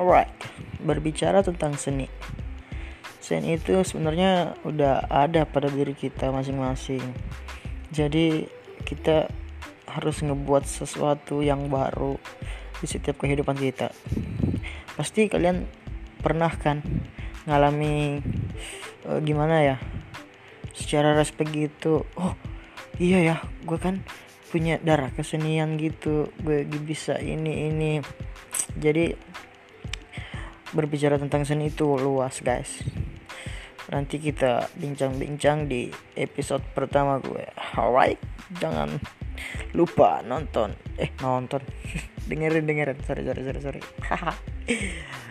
Alright, berbicara tentang seni. Seni itu sebenarnya udah ada pada diri kita masing-masing. Jadi kita harus ngebuat sesuatu yang baru di setiap kehidupan kita. Pasti kalian pernah kan ngalami gimana ya? Secara respek gitu. Oh iya ya, gue kan punya darah kesenian gitu. Gue bisa ini. Jadi berbicara tentang seni itu luas guys. Nanti kita bincang-bincang di episode pertama gue. Alright, jangan lupa nonton dengerin sorry